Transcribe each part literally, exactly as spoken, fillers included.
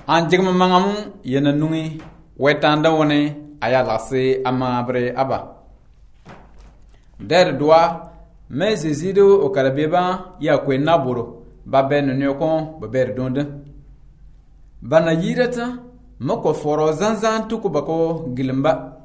an jigma mangamu yana nungi wetanda woni aya lase amabre aba der doa mais zezido o karabeba ya kwe naboro ba ben nyoko ba ber donde bana yirata mako foro zanzan tuku bako gilimba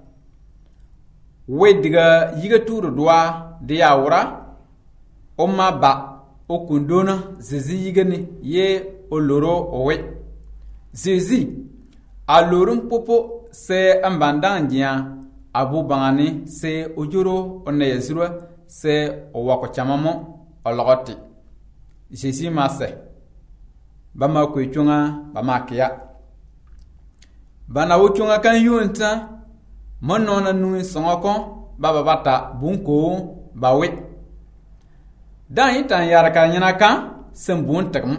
wediga yiga turu doa de yawra o ma ba o kundona zezi yigani ye o loro owe zezi a lorum popo se ambandangia abu bangani se ojuro onne yesura se o wako chamamo o logoti zezi ma se bama ko chunga bama kiya bana wo chunga kan yunta monona nu songoko baba bata bunko bawe dan yitan yaraka nyana kan sembun takm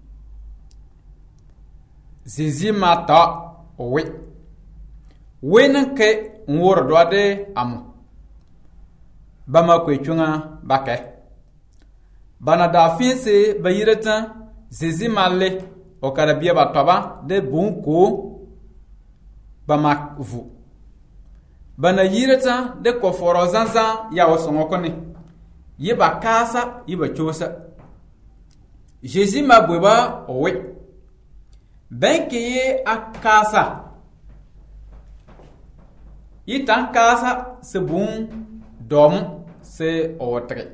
zizi mata owe wenen ke nwor doade amu bama ko chunga bake bana da finse bayirata zizi malle o karabia batoba de bunko bama vu bana yirata de koforo zanza ya osongoko ni yiba kasa yiba chosa Jésus ma bweba owe benke ye akasa yitan kasa se bun dom se otre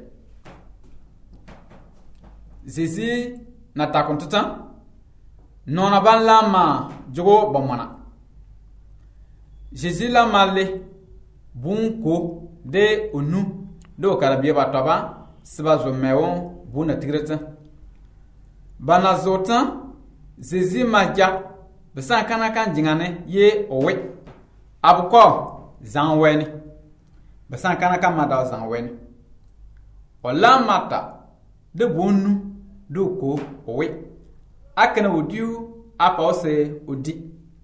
Jésus na takontutan nona ban lama jogo bomana Jésus la male bunko de onu do karabia bataba siba zo mewo buna tigreta bana zotan Jésus maja besa kana kan jingane ye owe abuko zanweni besa kana kan mada zanweni ola mata de bonu do ko owe akana odiu apa ose odi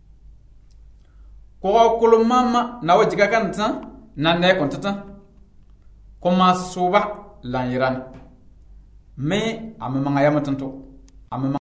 ko kolo mama na wajiga kan tan na ne kontata koma soba lan yiran me amama ngaya matanto amama